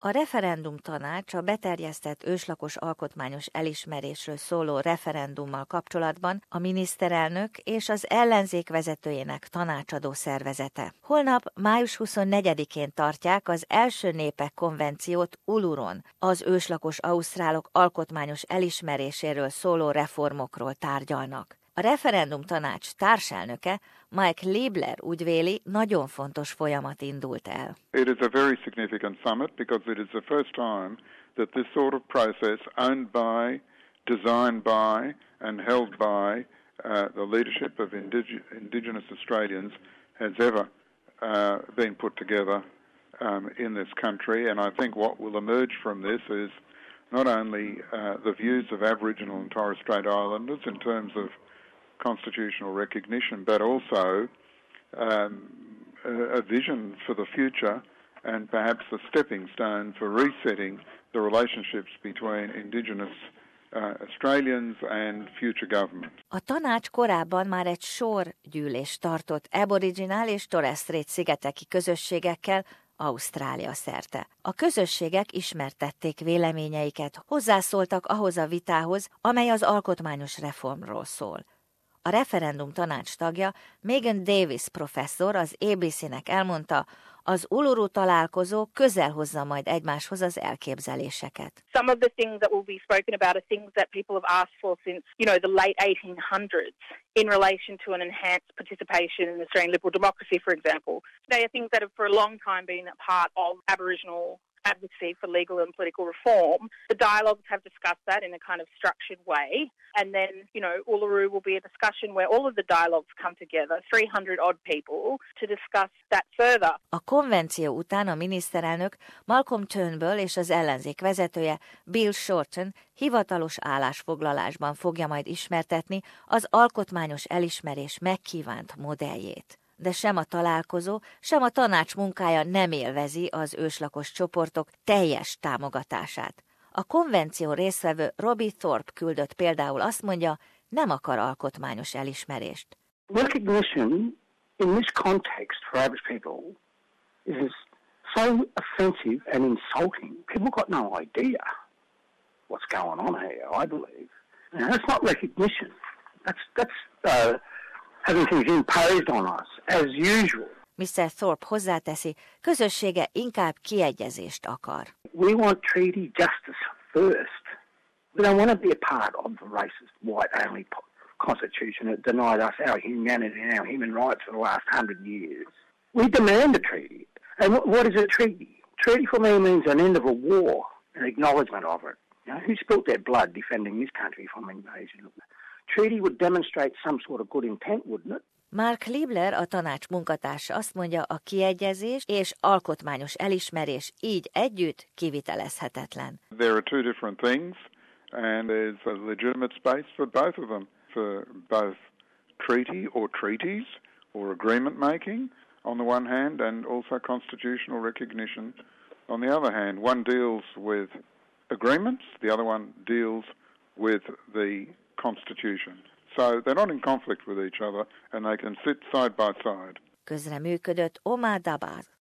A referendum tanács a beterjesztett őslakos alkotmányos elismerésről szóló referendummal kapcsolatban a miniszterelnök és az ellenzék vezetőjének tanácsadó szervezete. Holnap, május 24-én tartják az első népek konvenciót Uluron, az őslakos ausztrálok alkotmányos elismeréséről szóló reformokról tárgyalnak. A referendum tanács társelnöke, Mike Liebler úgy véli, nagyon fontos folyamat indult el. It is a very significant summit because it is the first time that this sort of process owned by, designed by and held by the leadership of Indigenous Australians has ever been put together in this country, and I think what will emerge from this is not only the views of Aboriginal and Torres Strait Islanders in terms of constitutional recognition, but also a vision for the future and perhaps a stepping stone for resetting the relationships between Indigenous Australians and future governments. A tanács korábban már egy sor gyűlést tartott Aboriginal és Torres Strait szigeteki közösségekkel Ausztrália szerte. A közösségek ismertették véleményeiket, hozzászóltak ahhoz a vitához, amely az alkotmányos reformról szól. A referendum tanács tagja, Megan Davis professzor az ABC-nek elmondta, az Uluru találkozó közel hozza majd egymáshoz az elképzeléseket. Some of the things that will be spoken about are things that people have asked for since, the late 1800s in relation to an enhanced participation in Australian liberal democracy, for example. They are things that have for a long time been a part of Aboriginal advocacy for legal and political reform. The dialogues have discussed that in a kind of structured way. And then, Uluru will be a discussion where all of the dialogues come together, 300 odd people, to discuss that further. A konvenció után a miniszterelnök Malcolm Turnbull és az ellenzék vezetője Bill Shorten hivatalos állásfoglalásban fogja majd ismertetni az alkotmányos elismerés megkívánt modelljét. De sem a találkozó, sem a tanács munkája nem élvezi az őslakos csoportok teljes támogatását. A konvenció résztvevő Robbie Thorpe küldött például azt mondja, nem akar alkotmányos elismerést. Recognition in this context for average people is so offensive and insulting. People got no idea what's going on here, I believe. That's not recognition. That's having things imposed on us, as usual. Mr. Thorpe hozzáteszi, közössége inkább kiegyezést akar. We want treaty justice first. We don't want to be a part of the racist, white-only constitution that denied us our humanity and our human rights for the last 100 years. We demand a treaty. And what is a treaty? Treaty for me means an end of a war, an acknowledgement of it. Who spilt their blood defending this country from invasion? Treaty would demonstrate some sort of good intent, wouldn't it? Mark Liebler, a tanács munkatársa azt mondja, a kiegyezés és alkotmányos elismerés így együtt kivitelezhetetlen. There are two different things, and there's a legitimate space for both of them, for both treaty or treaties or agreement making on the one hand, and also constitutional recognition on the other hand. One deals with agreements, the other one deals with the Constitution. So they're not in conflict with each other and they can sit side by side. Közreműködött Omar Dabbar.